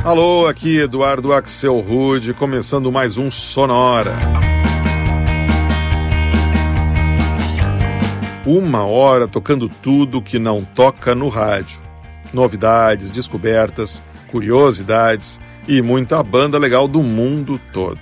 Alô, aqui Eduardo Axel Rude, começando mais um Sonora. 1 hora tocando tudo que não toca no rádio. Novidades, descobertas, curiosidades e muita banda legal do mundo todo.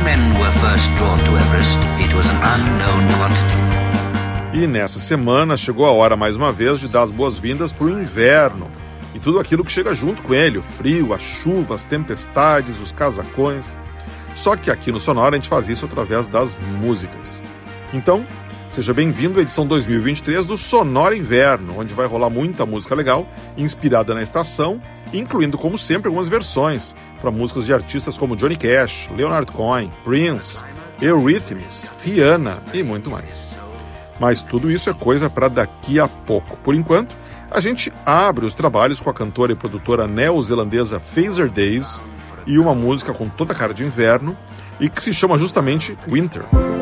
E nessa semana chegou a hora mais uma vez de dar as boas-vindas para o inverno e tudo aquilo que chega junto com ele, o frio, a chuva, as tempestades, os casacões. Só que aqui no Sonora a gente faz isso através das músicas. Então, seja bem-vindo à edição 2023 do Sonora Inverno, onde vai rolar muita música legal, inspirada na estação, incluindo, como sempre, algumas versões para músicas de artistas como Johnny Cash, Leonard Cohen, Prince, Eurythmics, Rihanna e muito mais. Mas tudo isso é coisa para daqui a pouco. Por enquanto, a gente abre os trabalhos com a cantora e produtora neozelandesa Phaser Days e uma música com toda a cara de inverno e que se chama justamente Winter.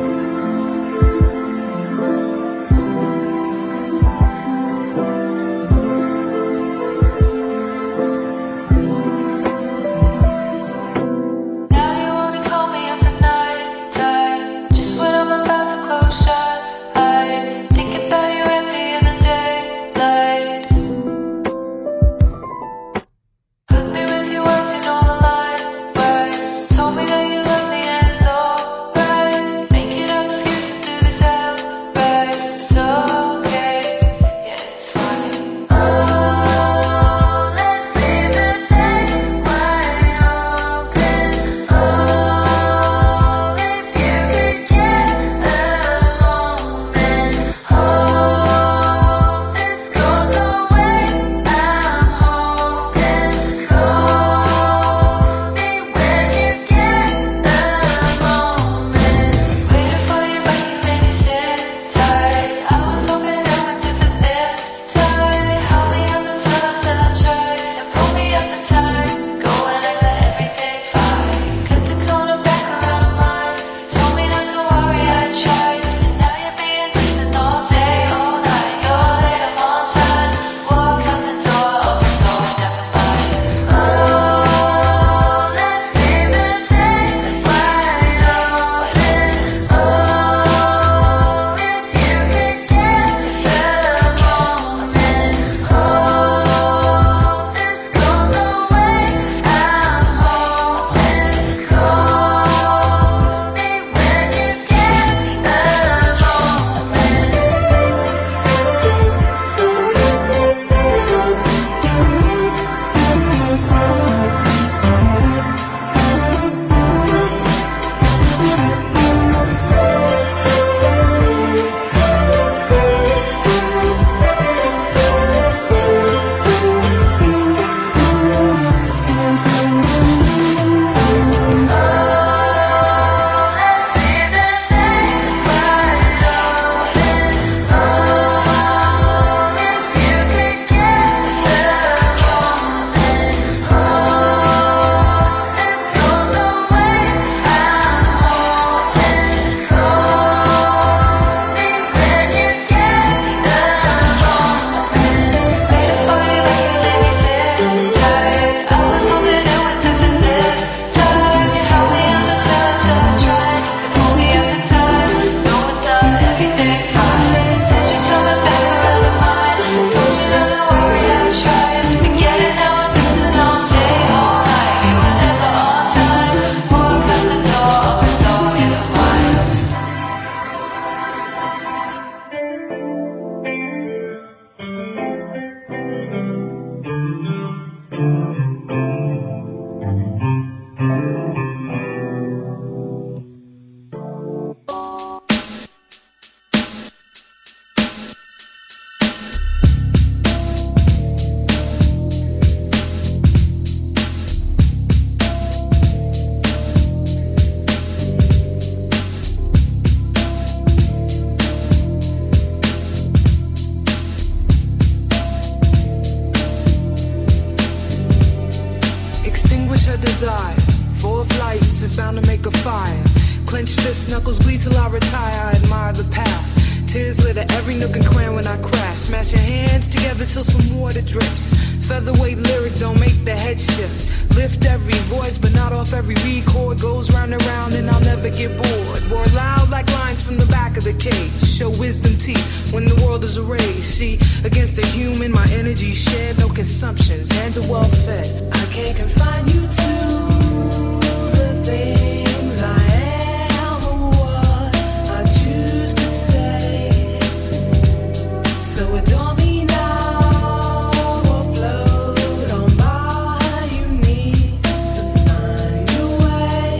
desire. 4 flights is bound to make a fire. Clenched fists, knuckles bleed till I retire. I admire the path. Tears litter every nook and cranny when I crash. Smash your hands together till some water drips. Featherweight lyrics don't make the head shift. Lift every voice, but not off every record. Goes round and round, and I'll never get bored. Roar loud like lions from the back of the cage. Show wisdom teeth when the world is arrayed. See, against a human, my energy shared. No consumptions, hands are well fed. I can't confine you to the things I am or what I choose to say. So adore me now or float on by. You need to find your way.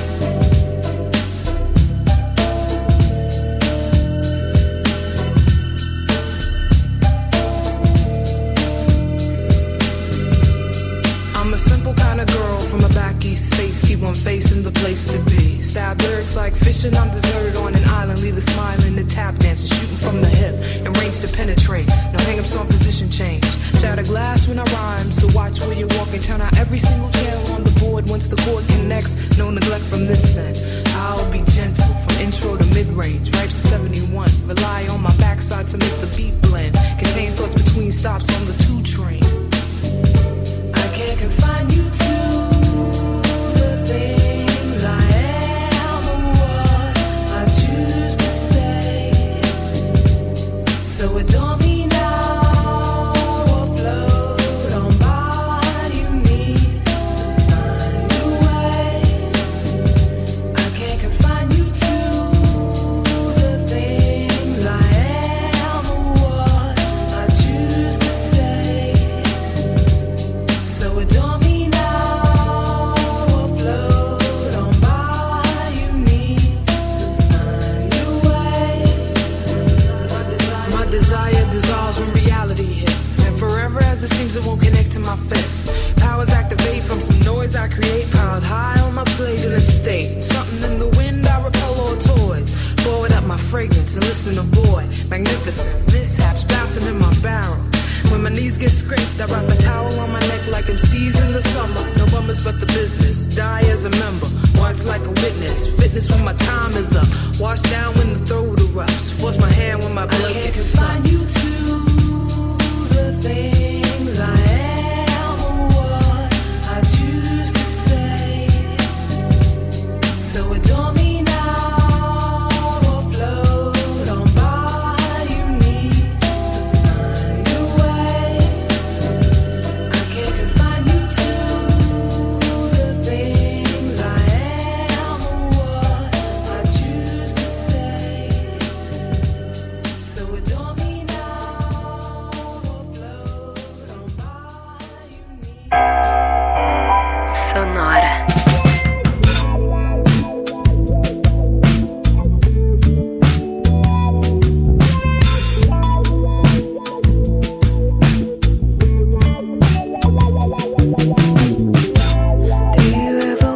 I'm a simple kind of girl from a back east space. Keep on facing the place to be. Stab lyrics like fishing, I'm deserted on an island. Leave the smiling, the tap dancing, shooting from the hip and range to penetrate. No hang-ups on position change. Shatter glass when I rhyme, so watch where you're walking. Turn out every single channel on the board. Once the chord connects, no neglect from this end. I'll be gentle from intro to mid-range. Ripes to 71. Rely on my backside to make the beat blend. Contain thoughts between stops on the 2 train. I can't confine you to the things I am or what I choose to say. So adore me now or float on by. You need to find your way. I can't confine you to the things I am or what I choose to say. So adore me now or float on by. You need to find your way. My desire dissolves when reality hits, and forever as it seems it won't connect to my fist. Powers activate from some noise I create, piled high on my plate in a state. Something in the wind I repel all toys. Forward up my fragrance and listen to boy. Magnificent mishaps bouncing in my barrel. When my knees get scraped, I wrap a towel on my neck like MCs in the summer. No bummers but the business. Die as a member. Watch like a witness. Fitness when my time is up. Wash down when the throat erupts. Force my hand when my blood gets sucked. I can't confine you to the things I am or what I choose to say. So adore me now or float on by. You need to find your way. I can't confine you to the things I am or what I choose to say. So adore me now or float on by. You need Sonora. Do you ever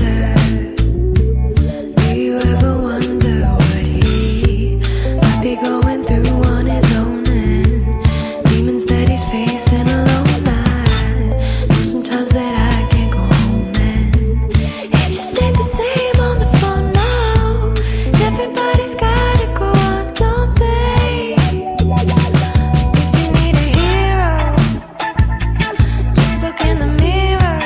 wonder what he might be going through on his own end? Demons that he's facing alone. I know sometimes that I can't go home and it just ain't the same on the phone, no. Everybody's gotta go on, don't they? If you need a hero, just look in the mirror.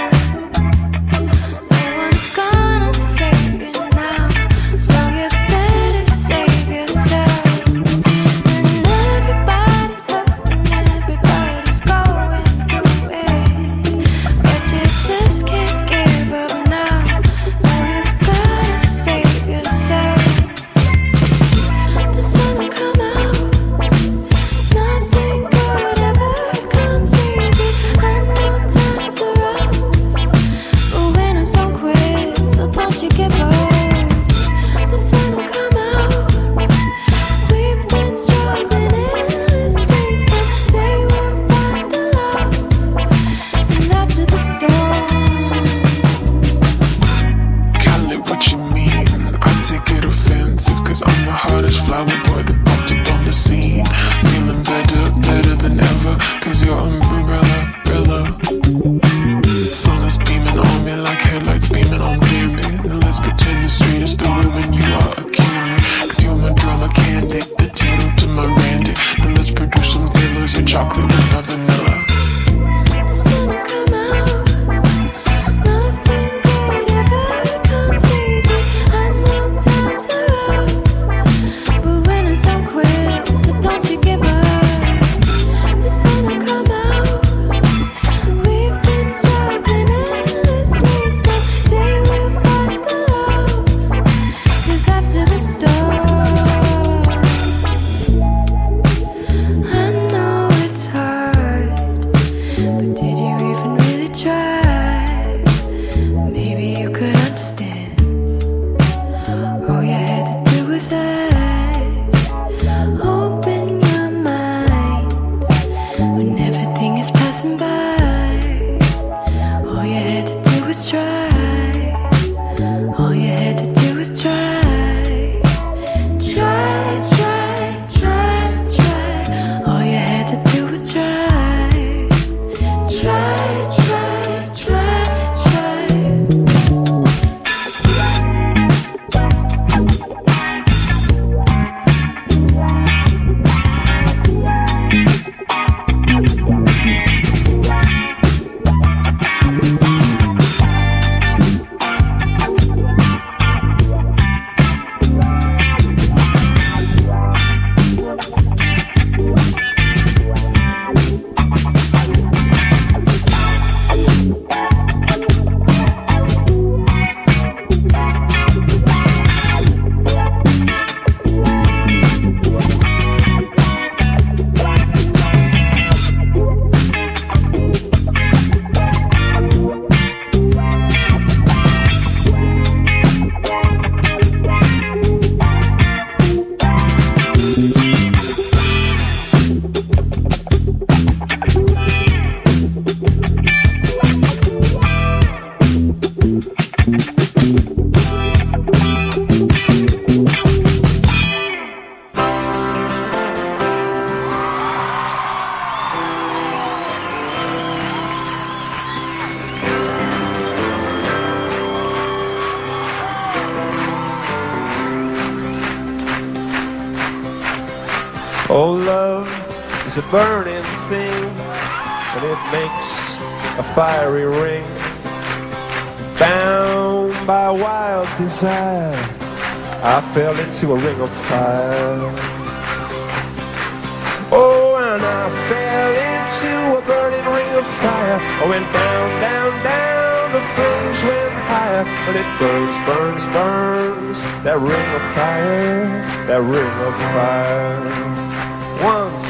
No one's gonna save you now, so you better save yourself. And everybody's hurting, everybody's going through it, but you just can't give up now. No, you've gotta save yourself. The sun will come out. Nothing good ever comes easy. I know times are rough, but winners don't quit, so don't you give up. The sun will come out. We've been struggling endlessly. Someday we'll find the love, and after the storm. Call it what you mean. I take it offensive, cause I'm the hottest flower boy that popped up on the scene. Feeling better than ever, cause you're umbrella. The sun is beaming on me like headlights beaming on Bambi. Now let's pretend the street is the room and you are a candy, cause you're my drama candy, potato to my Randy. Now let's produce some thrillers, your chocolate and my vanilla. when everything is passing by. All you had to do was try. All you had to do was try. Try, try, try, try. All you had to do was try. Try, try, try, try. Oh, love is a burning thing, and it makes a fiery ring. Bound by wild desire, I fell into a ring of fire. Oh, and I fell into a burning ring of fire. I went down, down, down, the flames went higher. But it burns, burns, burns, that ring of fire, that ring of fire. One, two.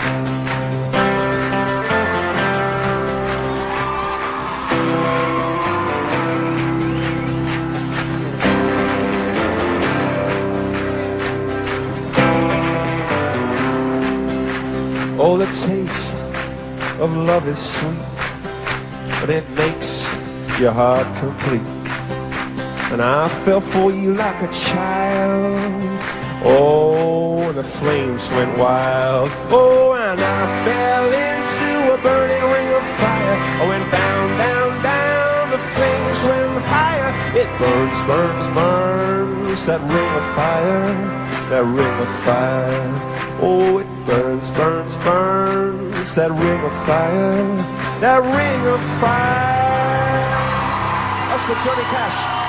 Oh, the taste of love is sweet, but it makes your heart complete. And I fell for you like a child. Oh, and the flames went wild. Oh, and I fell into a burning ring of fire. I went down, down, down, the flames went higher. It burns, burns, burns, that ring of fire, that ring of fire. Oh, it burns, burns, burns, that ring of fire, that ring of fire. That's for Johnny Cash.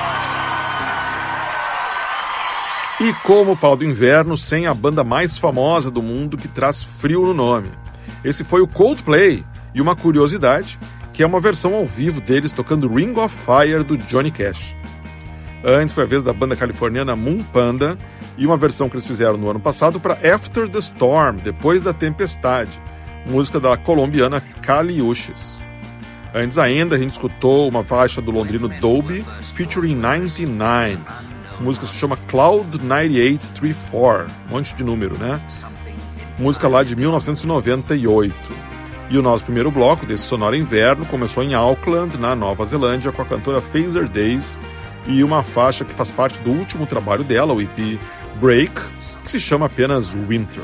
E como fala do inverno, sem a banda mais famosa do mundo que traz frio no nome. Esse foi o Coldplay, e uma curiosidade, que é uma versão ao vivo deles tocando Ring of Fire do Johnny Cash. Antes foi a vez da banda californiana Moon Panda, e uma versão que eles fizeram no ano passado para After the Storm, Depois da Tempestade, música da colombiana Kali Uchis. Antes ainda a gente escutou uma faixa do londrino Dolby, featuring 99. A música se chama Cloud 9834, um monte de número, né? Música lá de 1998. E o nosso primeiro bloco desse Sonora Inverno começou em Auckland, na Nova Zelândia, com a cantora Phaser Days e uma faixa que faz parte do último trabalho dela, o EP Break, que se chama apenas Winter.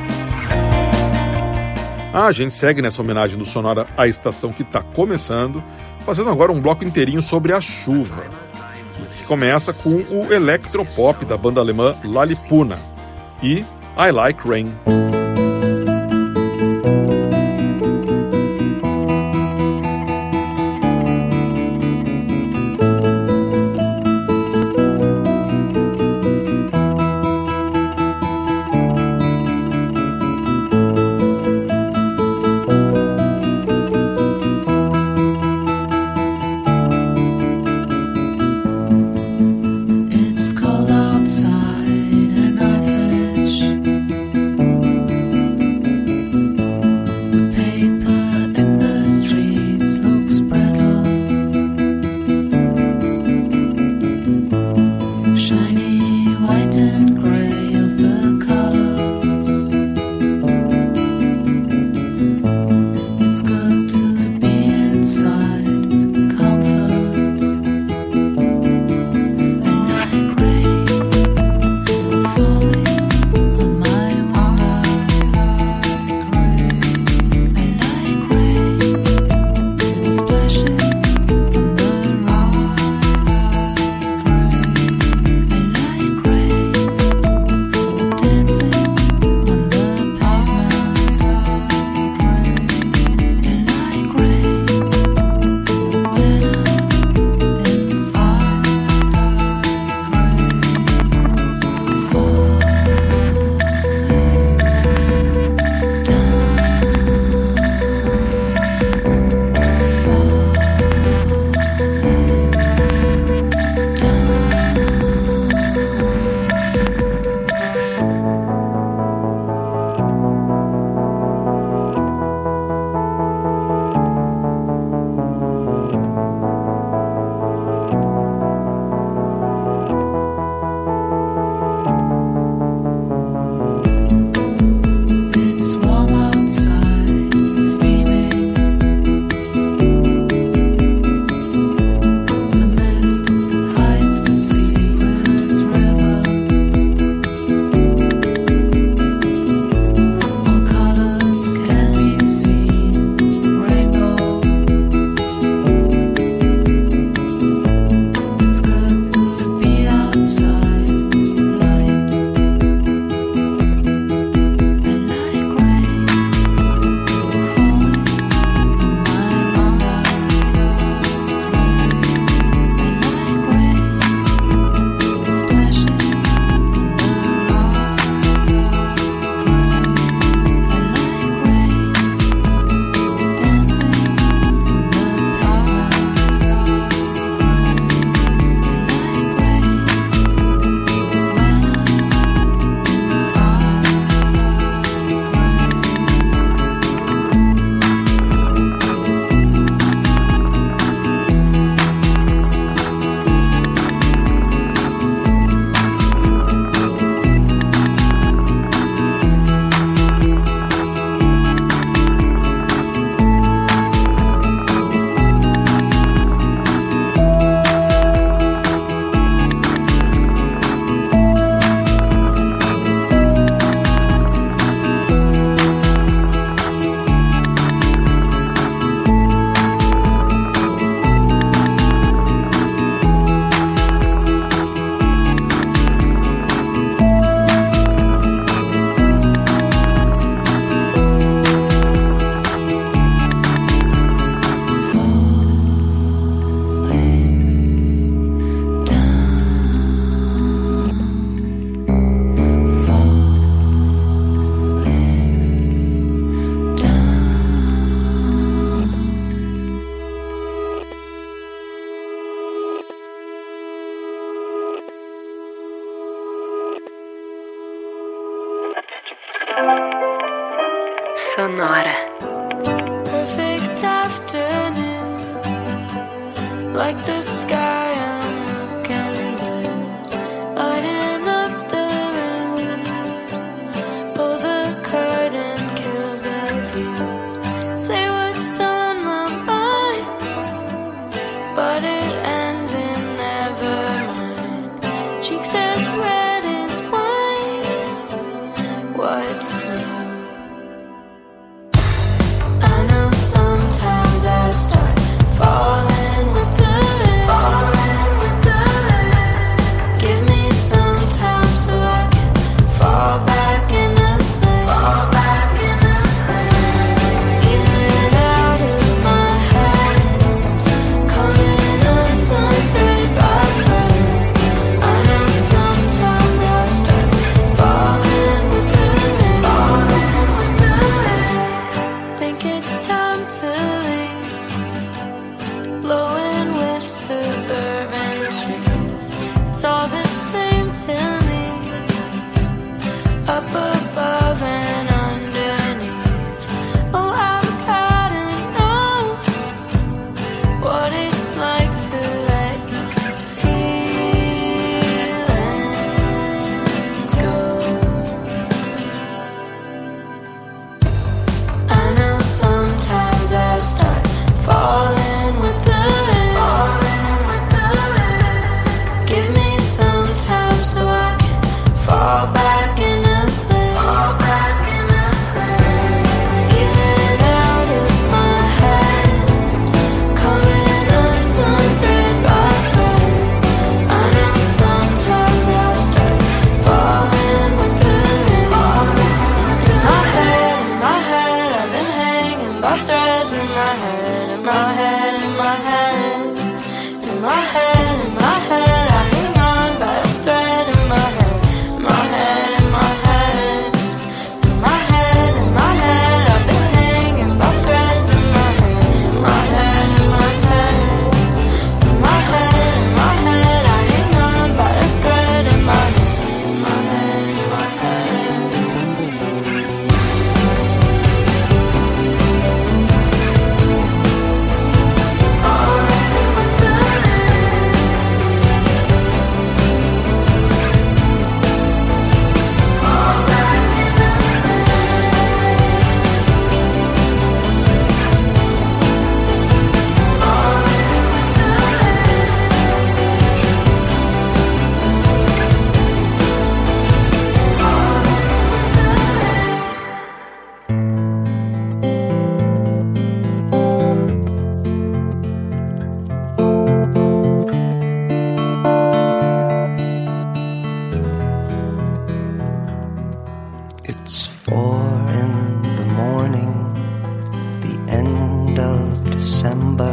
A gente segue nessa homenagem do Sonora à estação que está começando, fazendo agora um bloco inteirinho sobre a chuva. Começa com o electropop da banda alemã Lalipuna e I Like Rain. It's cold outside and I fish hora. Perfect afternoon, like the sky I'm looking blue, lighting up the room. Pull the curtain, kill the view. Say what's on my mind, but it ends in never mind. Cheeks as red as wine. What's new? I know sometimes I start falling with the rain. Give me some time so I can fall back into place. Feeling out of my head, coming undone thread by thread. I know sometimes I start falling with the rain. Think it's time to leave, blowing with suburban trees. It's all the same to me, up above and underneath. Oh, I've gotta know what it's like to let your feelings go. I know sometimes I start falling with the rain. Give me some time so I can fall back into place. Feeling out of my head, coming undone thread by thread. I know sometimes I start falling with the rain. In my head, I've been hanging by threads in my head, in my head, in my head, in my head, in my head. I hang on by a thread in my head, in my head, in my head, in my head, in my head. I've been hanging by threads in my head, in my head, in my head, in my head, in my head. I hang on by a thread in my head, in my head, in my head. It's 4 in the morning, the end of December.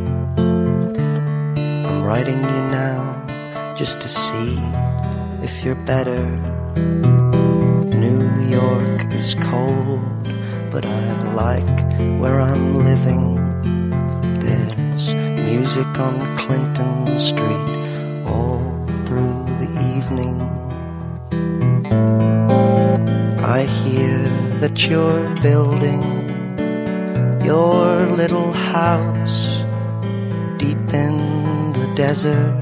I'm writing you now just to see if you're better. New York is cold, but I like where I'm living. There's music on Clinton Street all through the evening. I hear that you're building your little house deep in the desert.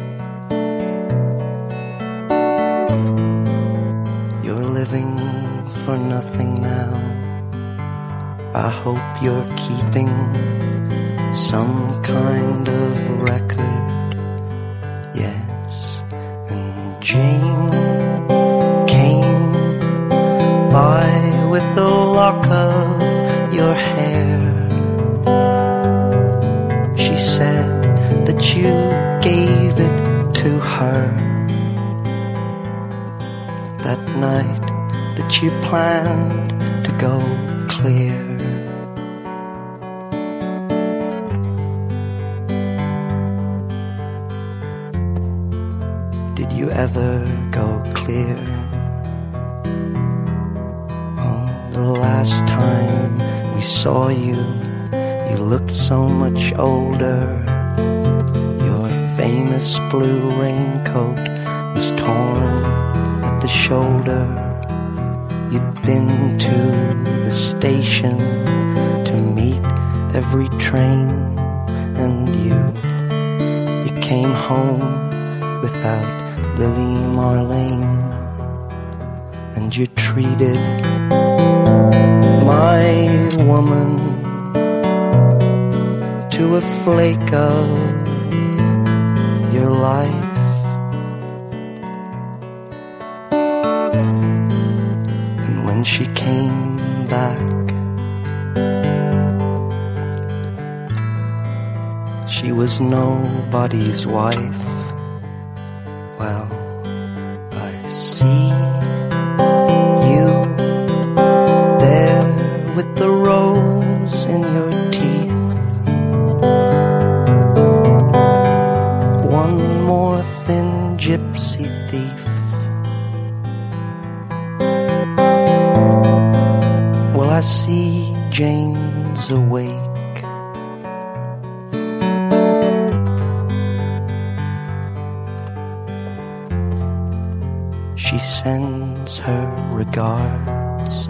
You're living for nothing now. I hope you're keeping some kind of record. Yes, and Jane came by with a lock of your hair. She said that you gave it to her that night that you planned to go clear. Did you ever go clear? The last time we saw you, you looked so much older. Your famous blue raincoat was torn at the shoulder. You'd into the station to meet every train, and you came home without Lily Marlene, and you treated my woman to a flake of your life. And when she came back, she was nobody's wife. Well, I see you there with the rose in your teeth. One more thin gypsy thief. Well, I see Jane's awake. She sends her regards.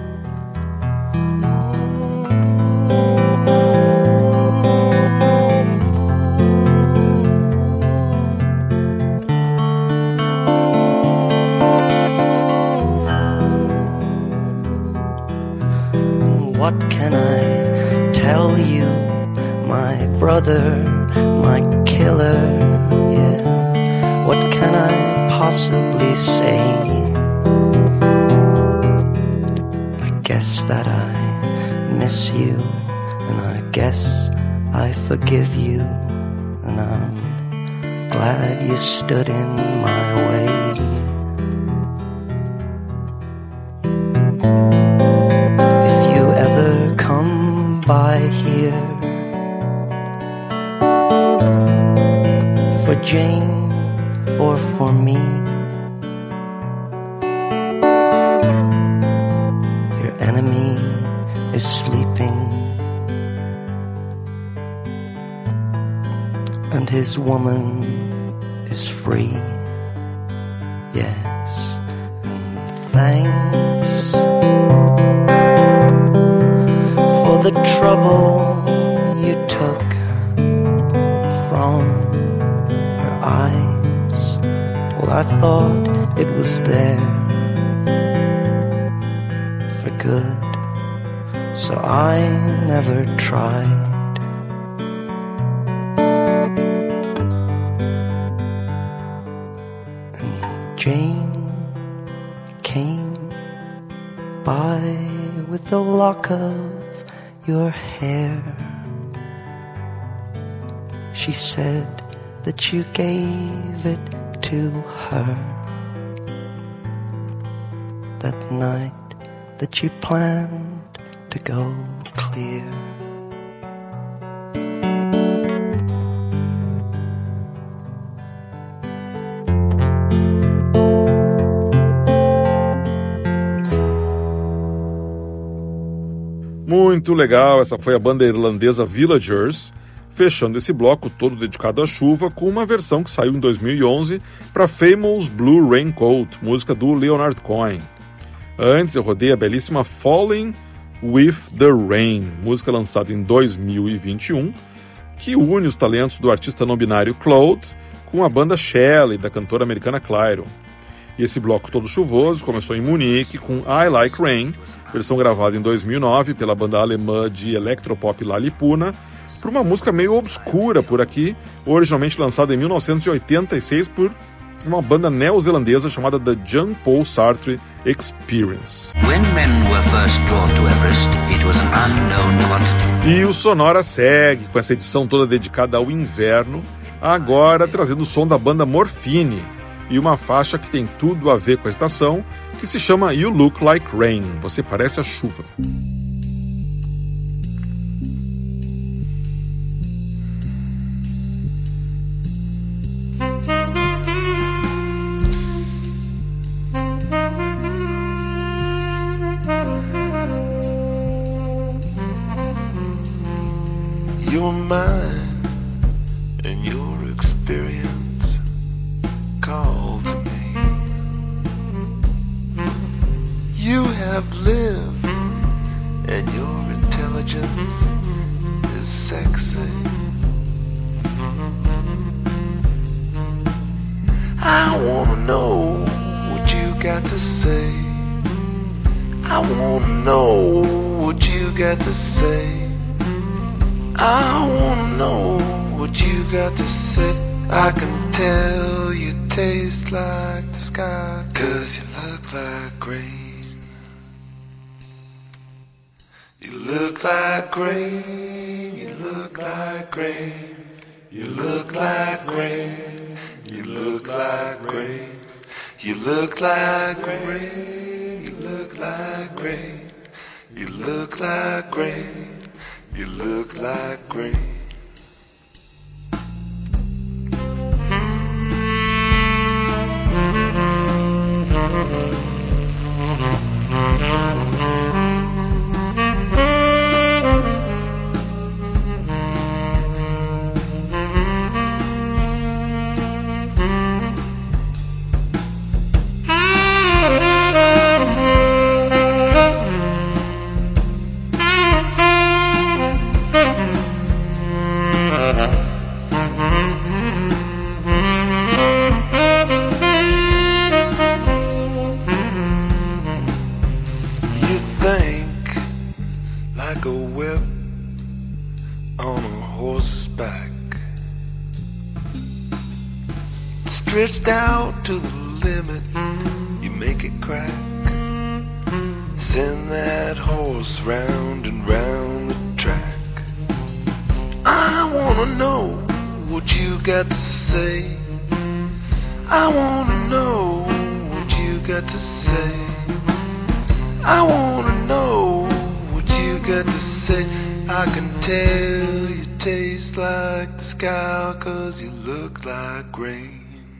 What can I tell you, my brother, my killer, yeah? What can I possibly say? I guess that I miss you, and I guess I forgive you, and I'm glad you stood in my way. If you ever come by here for Jane or for me, your enemy is sleeping, and his woman is free. Yes, and thanks for the trouble you took from her eyes. Well, I thought it was there for good, so I never tried. And Jane came by with a lock of your hair. She said that you gave it to her that night that you planned to go clear. Muito legal, essa foi a banda irlandesa Villagers, fechando esse bloco todo dedicado à chuva com uma versão que saiu em 2011 para Famous Blue Raincoat, música do Leonard Cohen. Antes eu rodei a belíssima Falling with the Rain, música lançada em 2021, que une os talentos do artista não binário Claude com a banda Shelley, da cantora americana Clairo. E esse bloco todo chuvoso começou em Munique com I Like Rain, versão gravada em 2009 pela banda alemã de electropop Lalipuna, por uma música meio obscura por aqui, originalmente lançada em 1986 por uma banda neozelandesa chamada The Jean Paul Sartre Experience. When men were first drawn to Everest, it was an unknown quantity. E o Sonora segue com essa edição toda dedicada ao inverno, agora trazendo o som da banda Morphine e uma faixa que tem tudo a ver com a estação, que se chama You Look Like Rain, você parece a chuva. Your mind and your experience called me. You have lived, and your intelligence is sexy. I wanna know what you got to say. I wanna know what you got to say. I wanna know what you got to say. I can tell you taste like the sky, 'cause you look like rain. You look like rain. You look like rain. You look like rain. You look like rain. You look like rain. You look like rain. You look like rain. You look like rain. Stretched out to the limit, you make it crack. Send that horse round and round the track. I wanna know what you got to say. I wanna know what you got to say. I wanna know what you got to say. I can tell you taste like the sky, 'cause you look like rain.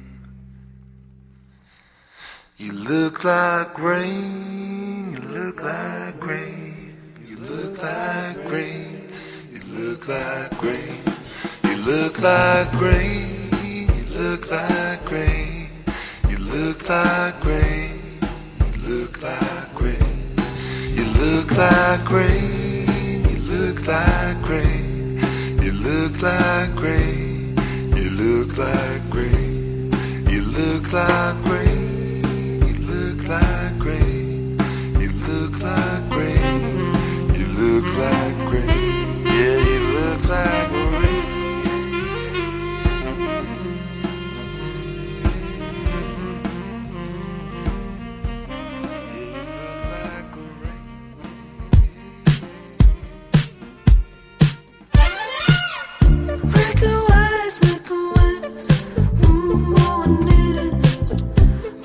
You look like rain. You look like rain. You look like rain. You look like rain. You look like rain. You look like rain. You look like rain. You look like rain. You look like rain. You look like rain. You look like rain. You look like rain. You look like rain. Like rain, you look like rain, you look like rain, yeah, you look like rain. Make a wise, oh, I need it.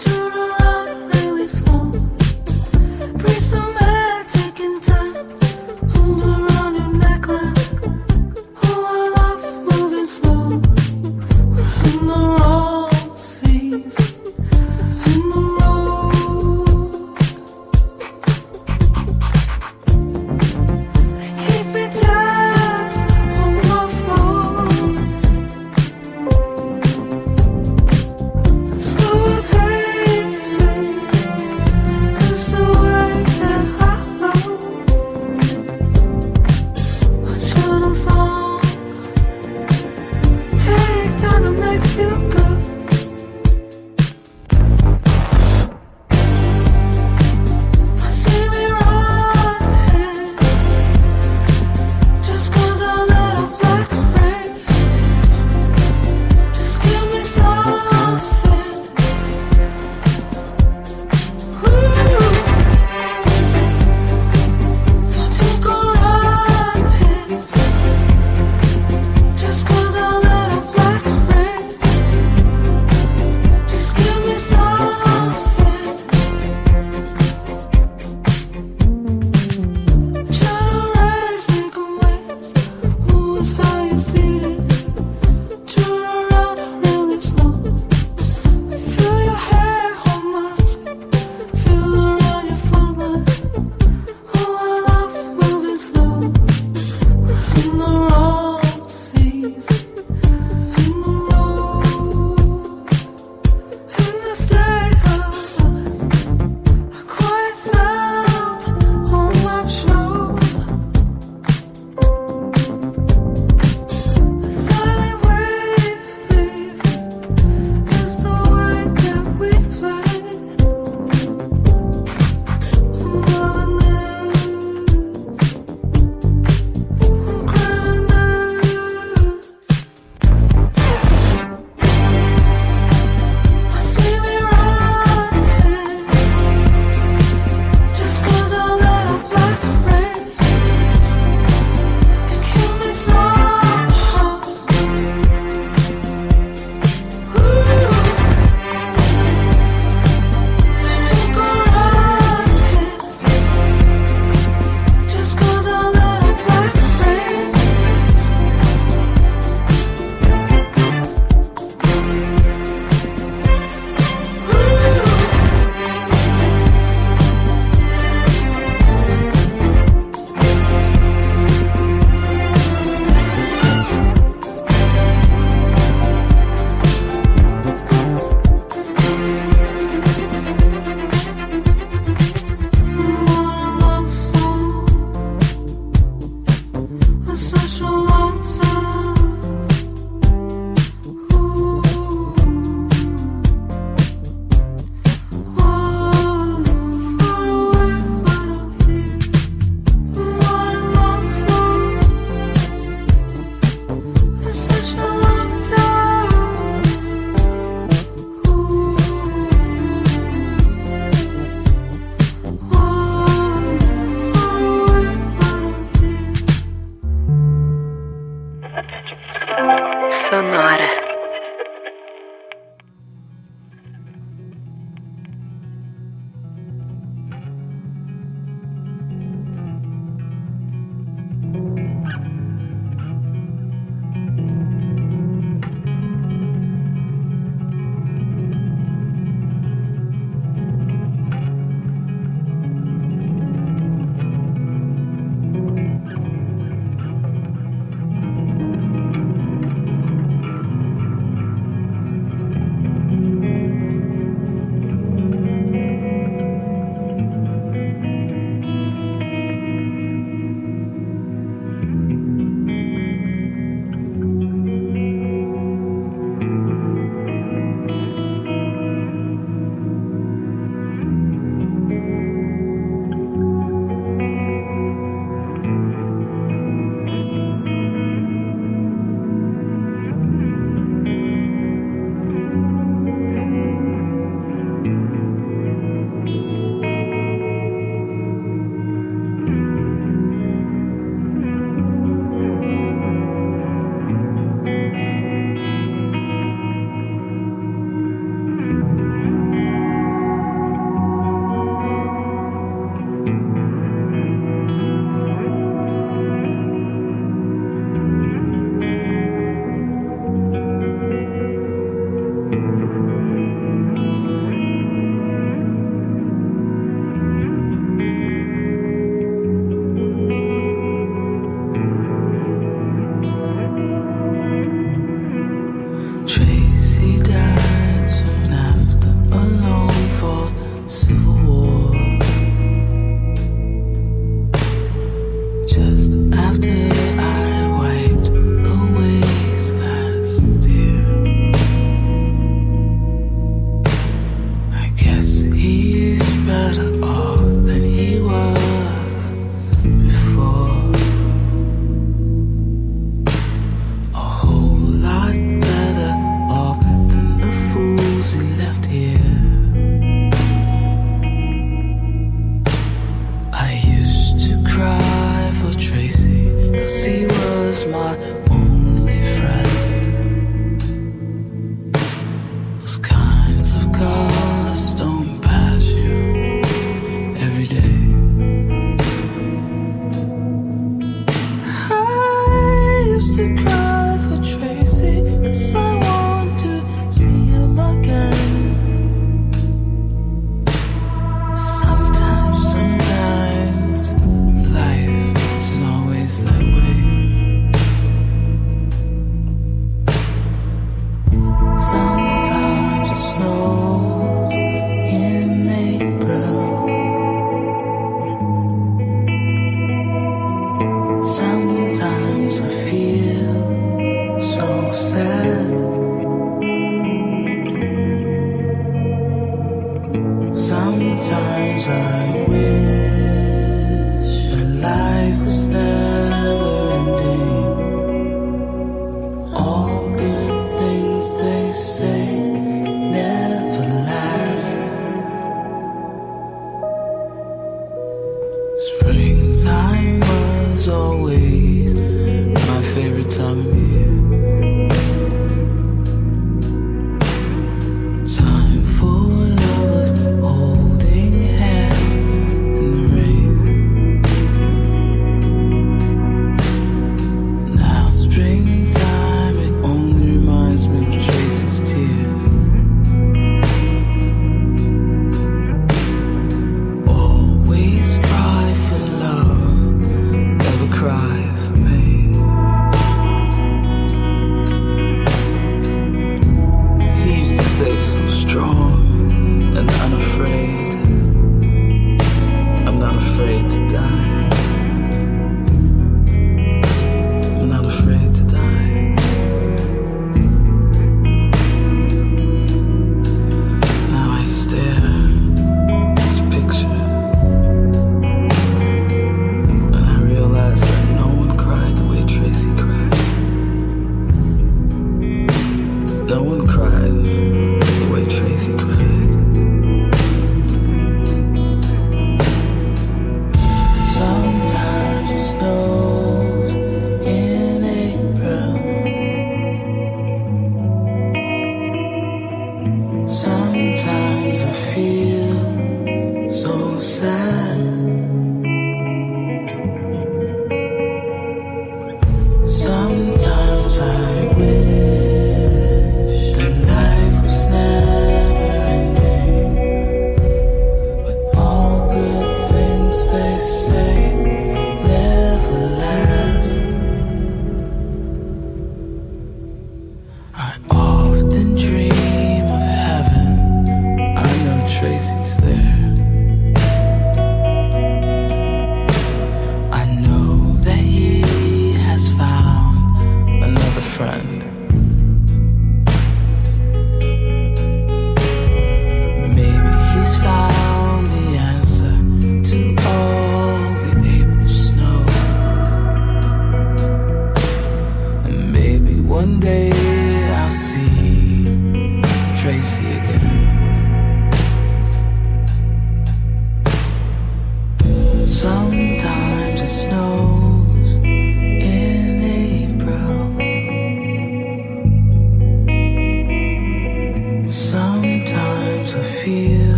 Sonora. Sometimes life isn't always that way.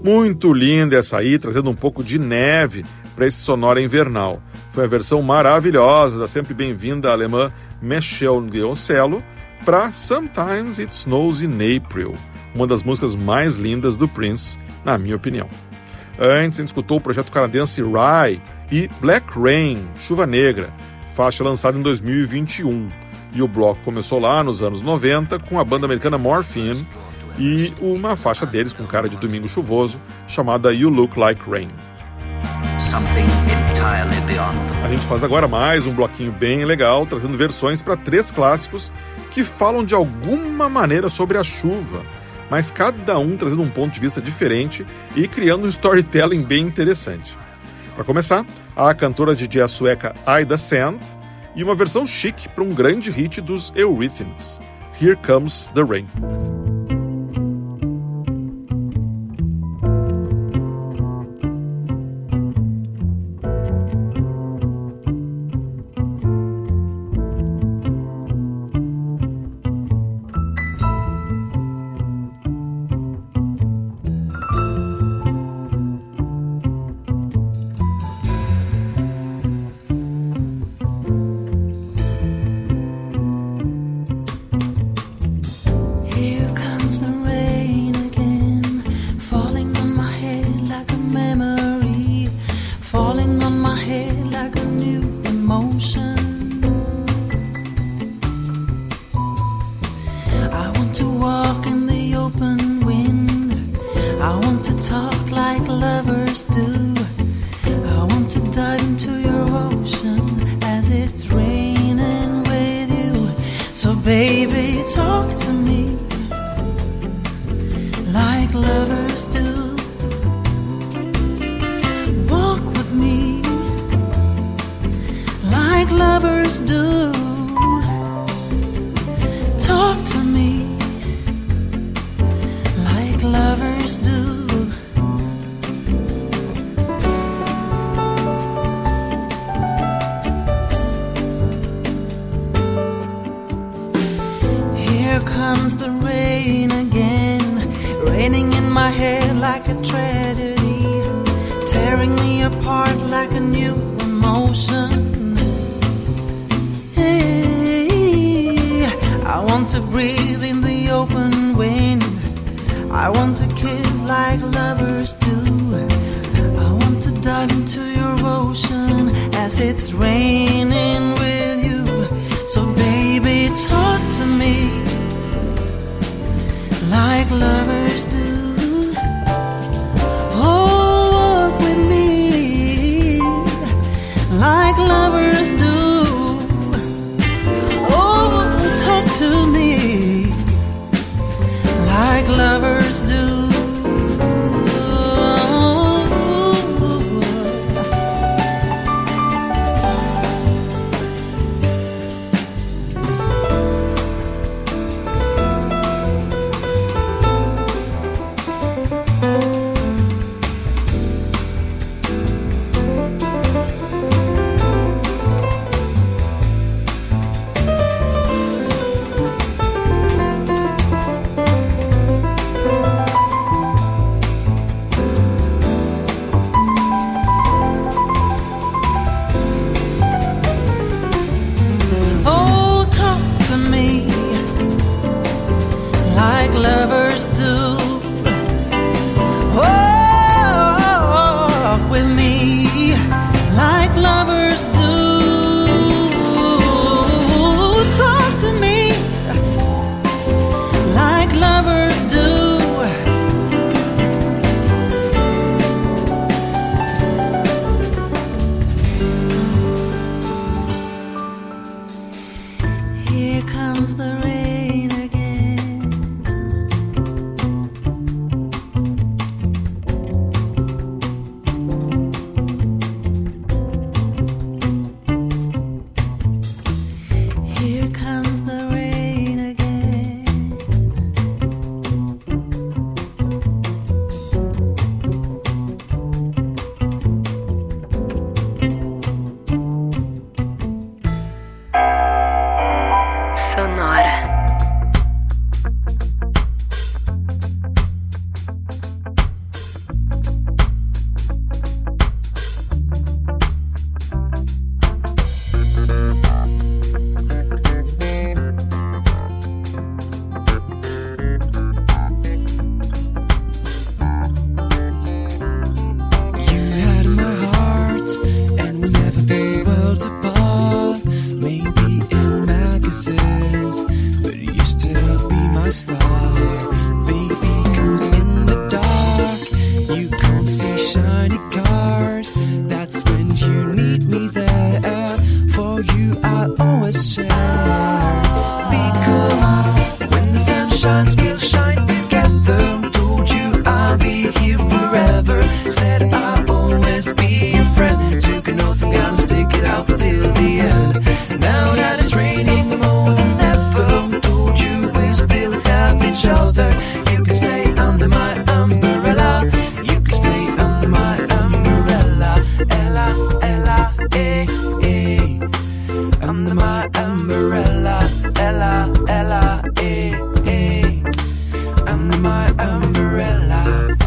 Muito linda essa aí, trazendo um pouco de neve para esse sonora invernal. Foi a versão maravilhosa da sempre bem-vinda alemã Michelle Giocello para Sometimes It Snows in April, uma das músicas mais lindas do Prince, na minha opinião. Antes, a gente escutou o projeto canadense Rye e Black Rain, Chuva Negra, faixa lançada em 2021. E o bloco começou lá nos anos 90 com a banda americana Morphine e uma faixa deles com cara de domingo chuvoso chamada You Look Like Rain. A gente faz agora mais um bloquinho bem legal, trazendo versões para 3 clássicos que falam de alguma maneira sobre a chuva, mas cada um trazendo um ponto de vista diferente e criando um storytelling bem interessante. Para começar, a cantora de jazz sueca Ida Sand e uma versão chique para um grande hit dos Eurythmics, Here Comes the Rain. my star, baby, 'cause in the dark you can't see shiny cars. That's when you need me there. For you I'll always share, because when the sun shines we'll shine together. Told you I'll be here forever. Said I'll always be your friend. Took an oath I'm gonna stick it out till the end. Now that it's raining more than ever, told you we still have each other. You can stay under my umbrella. You can stay under my umbrella. Ella, Ella, eh, eh. Under my umbrella. Ella, Ella, eh, eh. Under my umbrella.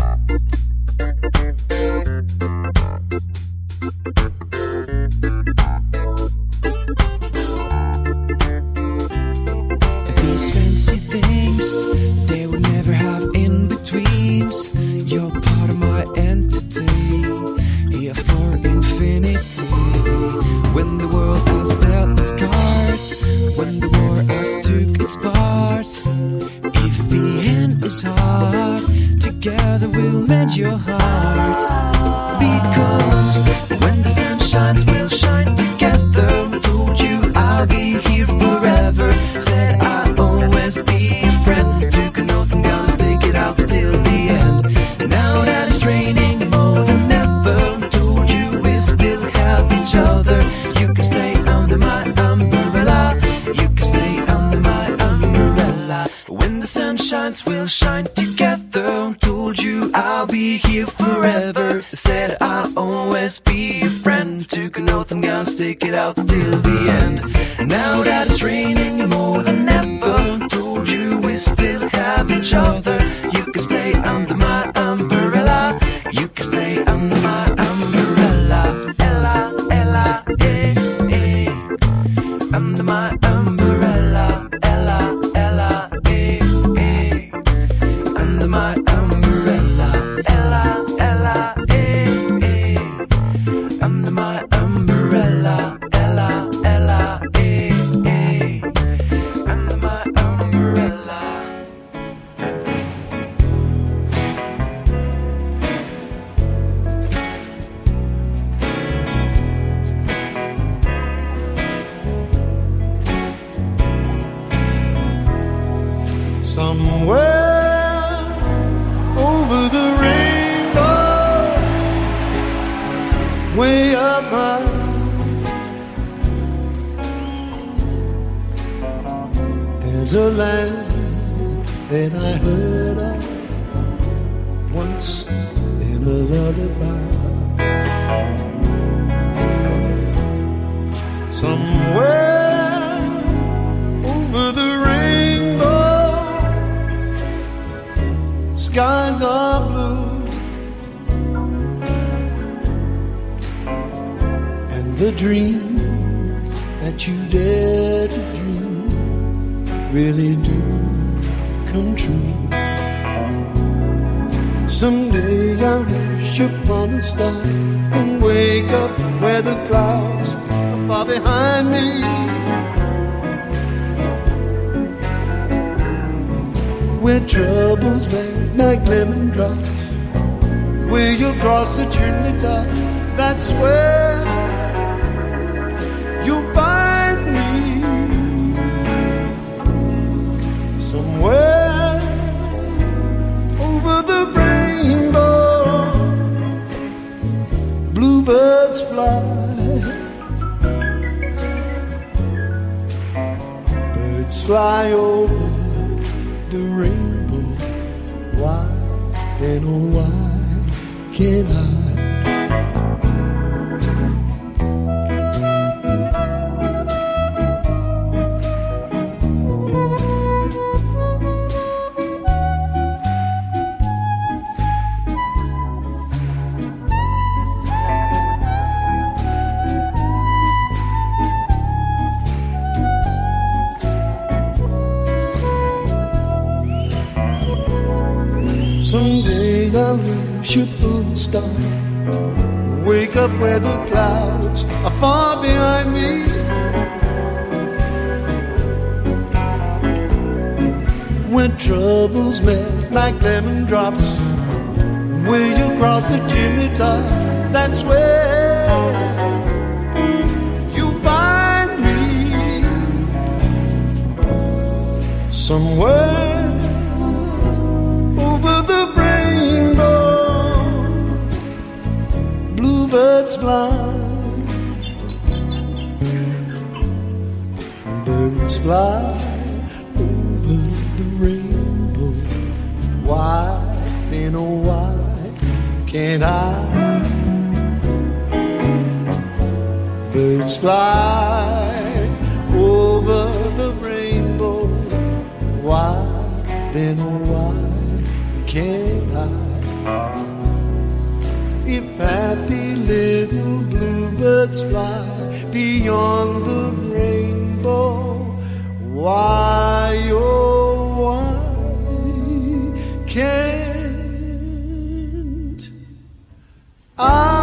These fancy things, they will never have in-betweens. You're part of my entity, here for infinity. When the world has dealt its cards, when the war has took its part, if the end is hard, together we'll mend your heart. Because when the sun shines, we'll shine together. Told you I'll be here forever. Said I'll always be your friend. Took an oath I'm gonna stick it out till the end. Now that it's raining more than ever, told you we still have each other. You can stay under my umbrella. You can stay under my umbrella. When the sun shines, we'll shine together. Told you I'll be here forever. Said I'll always be your friend. Took an oath I'm gonna stick it out till the end. Now that it's raining more than ever, told you we still have each other. You can stay under my umbrella. You can stay under my umbrella. Ella, Ella, eh, eh. Under my umbrella. Ella, Ella, eh, eh. Under my umbrella. Ella, Ella, eh, eh. Under my umbrella. Ella, Ella, eh, eh. Under my umbrella. Somewhere over the rainbow, way up high, there's a land that I heard of once in a lullaby. Somewhere over the rainbow, skies are blue, and the dreams that you dare to dream really do come true. Someday I'll wish upon a star and wake up where the clouds are far behind me. Where troubles bang like lemon drops, where you cross the chimney top, that's where you'll find me. Somewhere over the rainbow, bluebirds fly, birds fly over the rainbow. Why, then oh why can't I? Someday I'll wish upon a star, wake up where the clouds are far behind me. when troubles melt like lemon drops. Will you cross the chimney top? That's where you find me. Somewhere over the rainbow, bluebirds fly, birds fly over the rainbow. Why, then oh why can't I? Birds fly over the rainbow. Why, then oh why can't I? If happy little bluebirds fly beyond the rainbow, why, oh why can't I?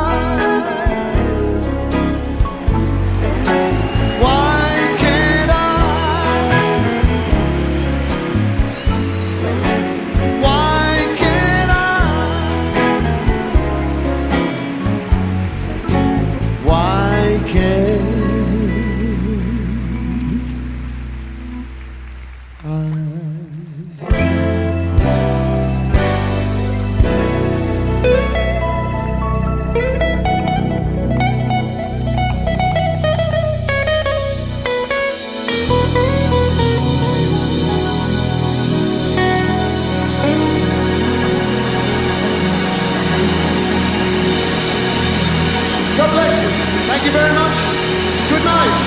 God bless you. Thank you very much. Good night.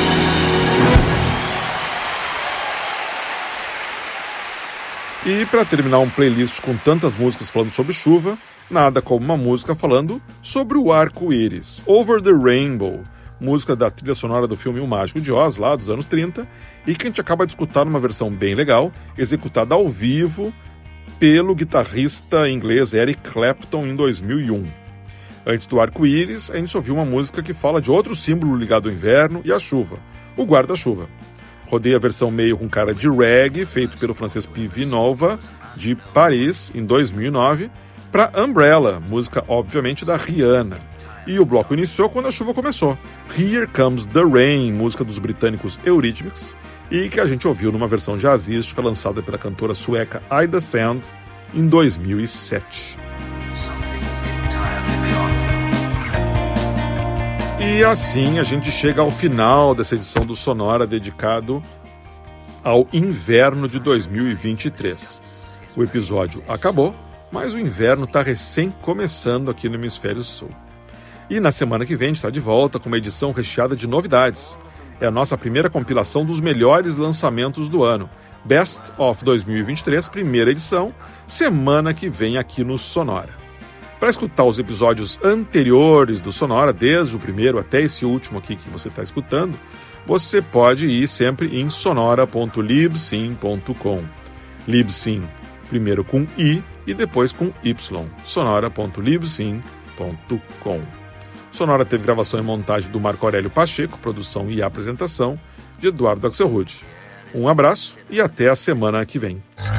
E para terminar um playlist com tantas músicas falando sobre chuva, nada como uma música falando sobre o arco-íris, Over the Rainbow, música da trilha sonora do filme O Mágico de Oz, lá dos anos 30, e que a gente acaba de escutar numa versão bem legal, executada ao vivo pelo guitarrista inglês Eric Clapton em 2001. Antes do arco-íris, a gente ouviu uma música que fala de outro símbolo ligado ao inverno e à chuva, o guarda-chuva. Rodei a versão meio com cara de reggae, feito pelo francês P.V. Nova, de Paris, em 2009, para Umbrella, música obviamente da Rihanna. E o bloco iniciou quando a chuva começou, Here Comes the Rain, música dos britânicos Eurythmics, e que a gente ouviu numa versão jazzística lançada pela cantora sueca Ida Sand em 2007. E assim a gente chega ao final dessa edição do Sonora dedicado ao inverno de 2023. O episódio acabou, mas o inverno está recém começando aqui no Hemisfério Sul. E na semana que vem a gente está de volta com uma edição recheada de novidades. É a nossa primeira compilação dos melhores lançamentos do ano. Best of 2023, primeira edição, semana que vem aqui no Sonora. Para escutar os episódios anteriores do Sonora, desde o primeiro até esse último aqui que você está escutando, você pode ir sempre em sonora.libsyn.com. Libsyn, primeiro com I e depois com Y. sonora.libsyn.com. Sonora teve gravação e montagem do Marco Aurélio Pacheco, produção e apresentação de Eduardo Axelrod. Um abraço e até a semana que vem.